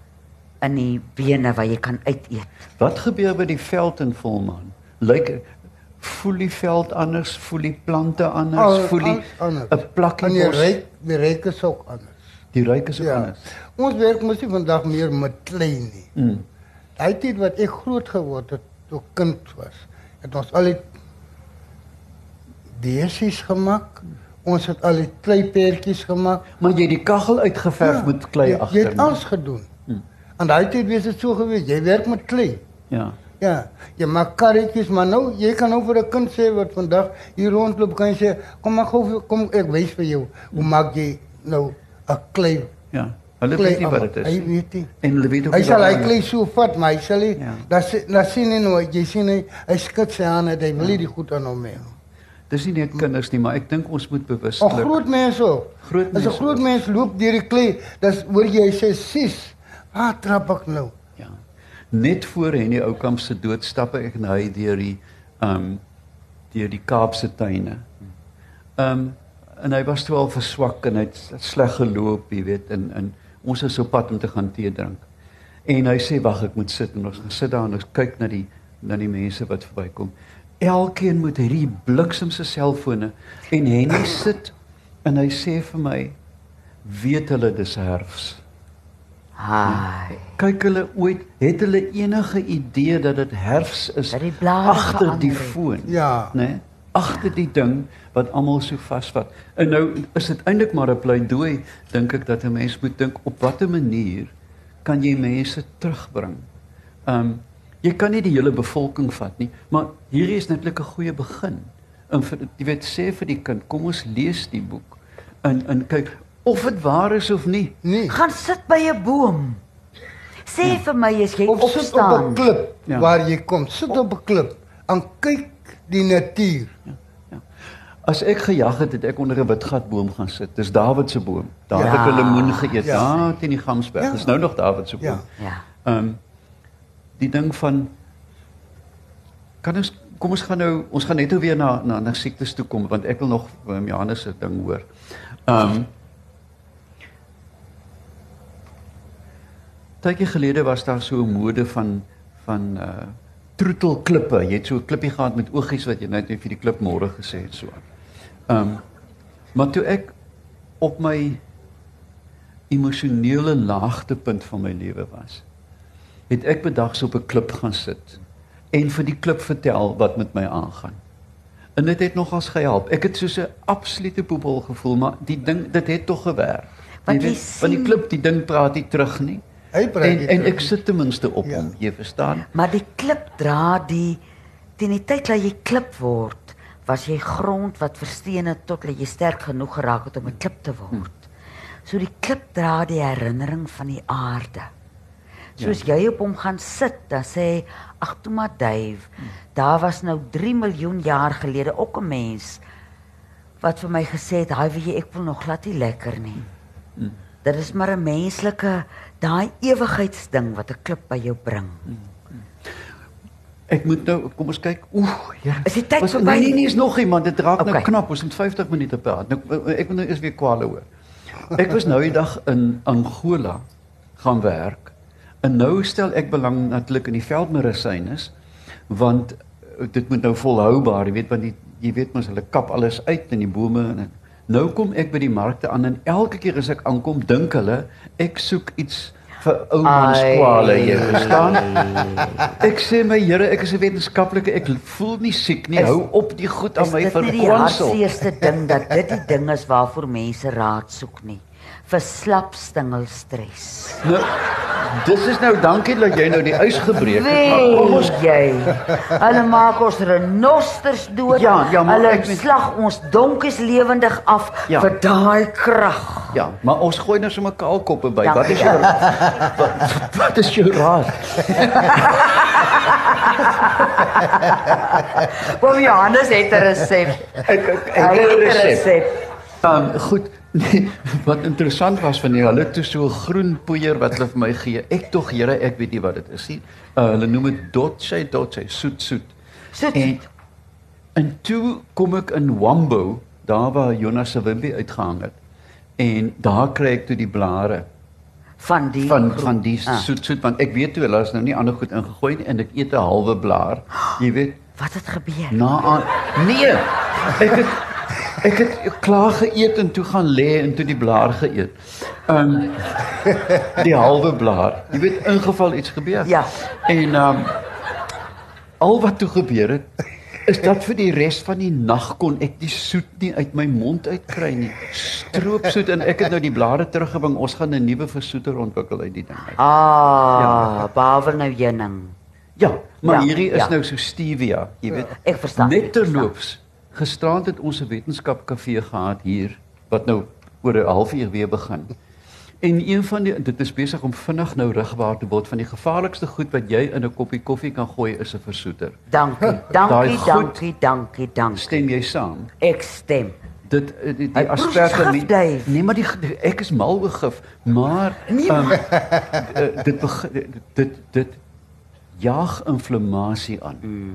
in die bene waar jy kan uiteet. Wat gebeur by die veld in volmaan? Voel die veld anders, voel die plante anders, voel die anders. 'n plakkie En bos. die reuk is ook anders. Die ruik is ook Ja. anders. Ons werk mos nie vandag meer met klei nie. Mm. Daai tyd wat ek groot geword het, toe ek kind was, het ons al die beesies gemaak. Ons het al die kleipertjies gemaak. Maar jy het die kaggel uitgeverf met klei Jy agter. het alles gedoen. En daai tyd was dit so geweest, jy werk met klei. Ja. Ja, jy maak karretjies, maar nou, jy kan nou vir 'n kind sê wat vandag hier rondloop, kan jy sê, kom maar gou, kom ek wys vir jou, hoe maak jy nou 'n klei? Ja. Hulle klei weet nie wat aan. dit Hy is. weet nie. En hulle weet ook Hy nie sal wat hy dit is. klei so vat, maar hy sal nie, Ja. dat sien jy nou, jy sien hy skud sy hande, hy wil nie die goed aan hom hê. Dis nie net kinders nie, maar ek dink ons moet O, bewustelik. groot mense ook. Groot As 'n mense groot ook. mens loop deur die klei, dan hoor jy hy sê, "Sis, waar trap ek nou?" Ja. Net voor Henny Oukamp se dood stap ek en hy deur die Kaapse tuine. En hy was toe al verswak en hy het sleg geloop, jy weet, en ons is op pad om te gaan tee drink. En hy sê wag, ek moet sit en ons gaan sit daar en ons kyk na die mense wat verbykom. Elkeen met hierdie bliksemse selfone en Henny sit en hy sê vir my, weet hulle dis herfs? Haai. Kyk het hulle enige idee dat dit herfs is Dat die blare agter die verander het. foon? Ja. Né? Agter die ding wat almal so vasvat. En nou is dit eintlik maar 'n pleidooi, dink ek, dat 'n mens moet dink op watter manier kan jy mense terugbring? Jy kan nie die hele bevolking vat nie, maar hierdie is netlik 'n goeie begin. En jy weet, sê vir die kind, kom ons lees die boek en kyk of dit waar is of nie. Nee. Gaan sit by 'n boom. Sê vir my as jy Of sit op opstaan. 'n klip Ja. waar jy kom. Sit op 'n klip en kyk die natuur. As ek gejag het, het ek onder 'n witgatboom gaan sit. Dis Dawid se boom. Daar het Ja. ek 'n lemoen geëet. Ja. Daar teen die Gamsberg. Ja. Dis nou nog Dawid se boom. Ja. Ja. Die ding van kom ons gaan net weer na siektes toe kom want ek wil nog Johannes se ding hoor. Tydjie gelede was daar so 'n mode van troetelklippe. Jy het so 'n klippie gehad met oogies wat jy net vir die klip môre gesê het so. Maar toe ek op my emosionele laagtepunt van my lewe was, het ek bedags op 'n klip gaan sit en vir die klip vertel wat met my aangaan. En dit het nogals gehelp. Ek het soos 'n absolute poepel gevoel, maar dit het tog gewerk. Want Jy jy weet, want die sien- klip, die ding praat nie terug nie. Hy praat nie En terug ek sit ten minste op Ja. hom, jy verstaan? Maar die klip dra teen die tyd dat jy klip word, was jy grond wat versteen het tot dat jy sterk genoeg geraak het om 'n klip te word. So die klip dra die herinnering van die aarde. Soos jy op hom gaan sit, dan sê hy, ag toe maar Dave, daar was nou 3 miljoen jaar gelede ook 'n mens wat vir my gesê het, "Haai, weet jy, ek wil nog glad nie lekker nie." Dit is maar 'n menslike, daai ewigheidsding wat 'n klip by jou bring. Ek moet nou, kom ons kyk. Ja. Is die tyd Was- verby? Nee, is nog iemand. Dit raak nou Okay. knap. Ons moet 50 minute praat. Nou, ek moet nou eers weer kwale hoor. Ek was nou die dag in Angola gaan werk. En nou stel ek belang natuurlik in die veldmedisynes, want dit moet nou volhoubaar, jy weet, want jy weet mos hulle kap alles uit in die bome en nou kom ek by die markte aan en elke keer as ek aankom, dink hulle ek soek iets vir oumanskwale, jy verstaan? Ek sê my Here, ek is 'n wetenskaplike, ek voel nie siek nie. Hou op die goed aan my Is dit nie die verkwansel. hartseerste ding dat dit die ding is waarvoor mense raad soek nie? Vir slap stingelstres. Nou, dis is nou dankie dat jy nou die ys gebreek het, maar kom ons jy. Hulle maak ons renosters dood. Ja, maar hulle ek weet- slag ons donkies lewendig af Ja. vir daai krag. ja, maar ons gooi nou sommer kaalkoppe by. Ja. Wat is jou wat is jou raad? Oom Johannes het 'n resep. Ek Hy het 'n het 'n resep. resep. Goed. Nee, wat interessant was van die hulle toe so 'n groen poeier wat hulle vir my gee. Ek tog, Here, ek weet nie wat dit is nie. Hulle noem dit dotse, soet. Soet. En toe kom ek in Wambo, daar waar Jonas se Wimpie uitgehang het. En daar kry ek toe die blare. van die van die soet want ek weet toe hulle is nou nie ander goed ingegooi nie en ek eet 'n halwe blaar. Jy weet, Wat het gebeur? nee. Ek het klaar geëet en toe gaan lê en toe die blaar geëet. Die halwe blaar. Jy weet, ingeval iets gebeur. Ja. En al wat toe gebeur het is dat vir die res van die nag kon ek die soet nie uit my mond uitkry nie. Stroopsoet en ek het nou die blare teruggebring. Ons gaan 'n nuwe versoeter ontwikkel uit die ding uit. Behalwe nou heuning. Ja, maar Ja, hierdie is ja. nou so stevia, jy weet. Ek verstaan. Net terloops, gisterand het ons 'n wetenskapkafee gehad hier wat nou oor 'n halfuur weer begin. En een van dit is besig om vinnig nou rigbaar te word van die gevaarlikste goed wat jy in 'n koppie koffie kan gooi is 'n versoeter. Dankie. Stem jy saam? Ek stem. Dit die Hy proef asperge gif, Dave. nee, maar ek is mal oor gif, maar dit jaag inflammasie aan.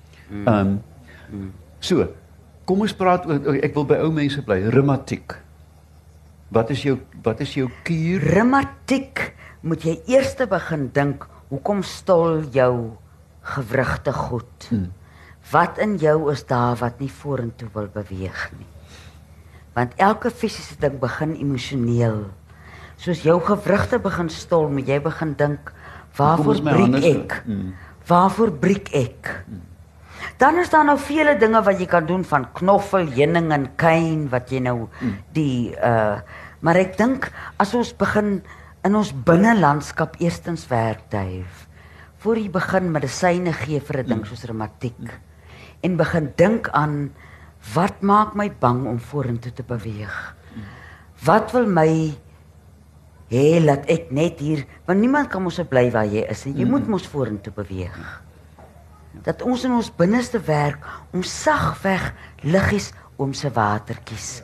So, kom ons praat oor ek wil by ou mense bly, reumatiek. Wat is jou kuur? Reumatiek moet jy eers begin dink, hoekom stol jou gewrigte goed? Wat in jou is daar wat nie vorentoe wil beweeg nie? Want elke fisiese ding begin emosioneel. Soos jou gewrigte begin stol, moet jy begin dink, waarvoor breek ek? Waarvoor breek ek? Dan is daar nou vele dinge wat jy kan doen van knoffel, heuning en kuyn wat jy nou maar ek dink as ons begin in ons binnelandskap eerstens werk, Dave, voor jy begin medisyne gee vir 'n ding soos reumatiek en begin dink aan wat maak my bang om vorentoe te beweeg? Wat wil my hê laat ek net hier, want niemand kan mos bly waar jy is en jy moet mos vorentoe beweeg. Dat ons in ons binneste werk om sagweg liggies oom se watertjies.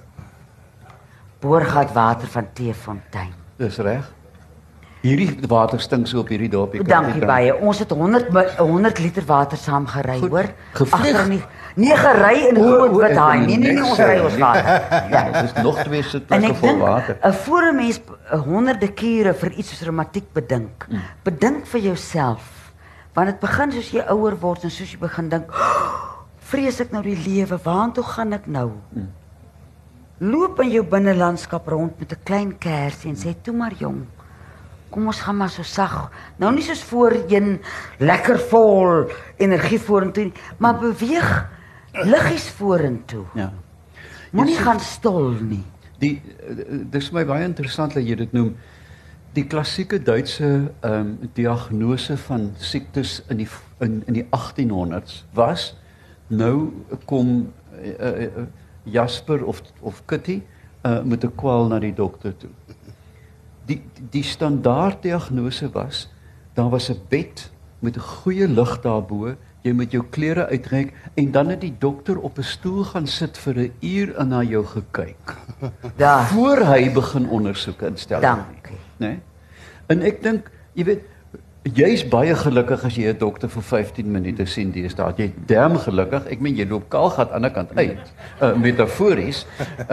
Boorgat water van Teefontein. Dis reg. Hierdie water stink so op hierdie dorpie. Dankie baie. Ons het 100 liter water saam gery, hoor. Gevlieg? Agter nie. Nee, gery in groot wit haai. Nee, ons ry ons water. Ja, dit is nog 2 En sitplekke ek vol dink, water. voor 'n mens honderde kere vir iets soos reumatiek bedink, bedink vir jouself. Want dit begin soos jy ouer word en soos jy begin dink, vrees ek nou die lewe, waartoe gaan ek nou? Loop in jou binnelandskap rond met 'n klein kersie en sê, toe maar jong, kom ons gaan maar so sag, nou nie soos voorheen, lekker vol energie vorentoe nie, maar beweeg liggies vorentoe. Ja. Moenie gaan stol nie. Dis vir my baie interessant dat jy dit noem. Die klassieke Duitse diagnose van siektes in die 1800s was, nou kom Jasper of Kitty met 'n kwal na die dokter toe. Die standaard diagnose was, daar was 'n bed met 'n goeie lig daarbo, jy moet jou klere uittrek en dan het die dokter op 'n stoel gaan sit vir 'n uur en na jou gekyk. Daar. Voor hy begin ondersoeke instel. Dankie. Nee? En ek dink, jy weet, jy's baie gelukkig as jy 'n dokter vir 15 minute sien deesdae. Jy damn gelukkig. Ek meen jy loop kaalgat aan die ander kant uit. Metafories.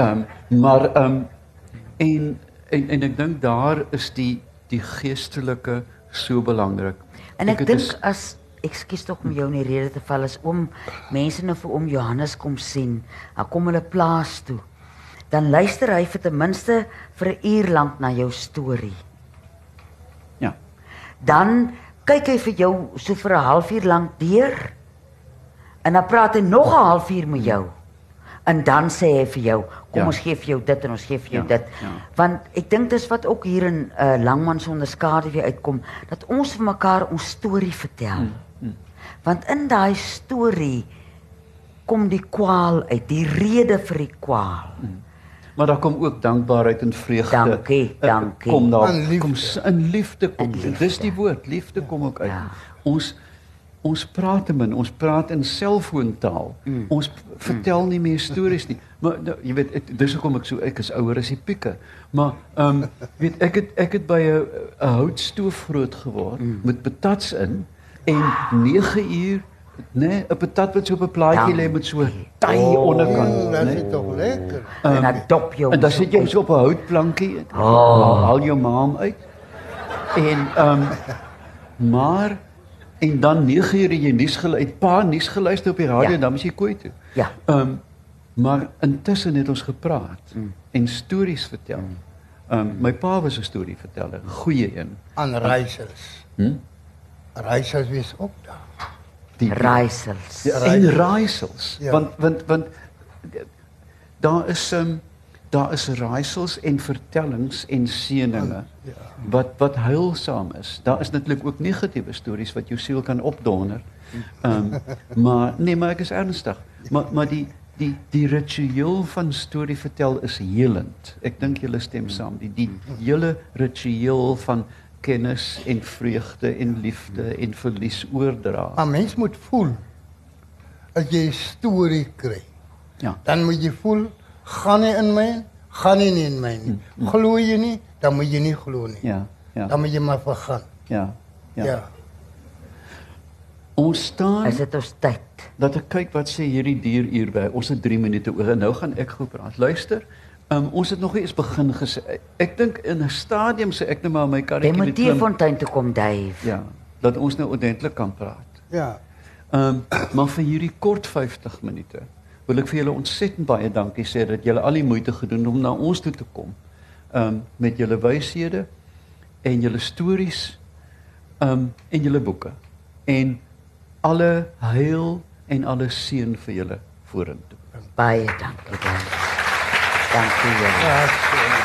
En ek dink daar is die geestelike so belangrik. En ek dink as ekskuus tog om jou in die rede te val, as mense nou vir oom Johannes kom sien, dan kom hulle plaas toe. Dan luister hy vir ten minste vir 'n uur lank na jou storie. Ja. Dan kyk hy vir jou so vir 'n halfuur lank deur. En dan praat hy nog 'n halfuur met jou. En dan sê hy vir jou, kom ons gee vir jou dit en ons gee vir jou dit. Ja. Want ek dink dis wat ook hier in Langman sonder skade weer uitkom, dat ons vir mekaar ons storie vertel. Want in daai storie kom die kwaal uit, die rede vir die kwaal. Maar daar kom ook dankbaarheid en vreugde. Dankie. Kom daar, In liefde. kom in liefde kom. In liefde. Dis die woord, liefde kom ook uit. Ja. Ons praat te min, ons praat in selfoontaal. Ons vertel nie meer stories nie. Maar jy weet, dis hoekom ek is ouer as die pieke. Maar weet ek het by 'n houtstoof groot geword met patats in en 9 uur, nee, 'n patat wat so op 'n plaatjie lê met so 'n taai onderkant, Dat nee. is toch lekker. En dan dop jou. En dan sit jy so op 'n houtplankie, haal jou maam uit En maar en dan 9 uur jy nuus geluister, paar nuus geluister op die radio en dan moet jy kooi toe. Ja. Maar intussen het ons gepraat en stories vertel. My pa was 'n storieverteller, 'n goeie een. Aan Raaisels. Raaisels wees ook daar. Raaisels. En raaisels. Ja. Want daar is raaisels en vertellings en seëninge wat heilsaam is. Daar is natuurlik ook negatiewe stories wat jou siel kan opdonder. Maar ek is ernstig. Maar die ritueel van storie vertel is helend. Ek dink julle stem saam. Die hele ritueel van kennis en vreugde en liefde en verlies oordra. Maar mens moet voel as jy 'n storie kry. Ja. Dan moet jy voel, gaan nie in my, gaan nie in my nie. Glo jy nie, dan moet jy nie glo nie. Ja. Dan moet jy maar vergaan. Ja. Ons staan Is dit ons tyd? dat ek kyk wat sê hierdie dier hier by. Ons het 3 minute oor en nou gaan ek gou praat. Luister. Ons het nog nie eens begin gesê. Ek dink in 'n stadium sê ek net maar my Jy karretjie moet met Teefontein toe kom, Dave. Ja, dat ons nou ordentlik kan praat. Ja. Maar vir hierdie kort 50 minute wil ek vir julle ontsettend baie dankie sê dat julle al die moeite gedoen om na ons toe te kom. Met julle wyshede en julle stories en julle boeke. En alle heil en alle seën vir julle vorentoe. Baie dankie, Dave. Dankie julle. Ja, so.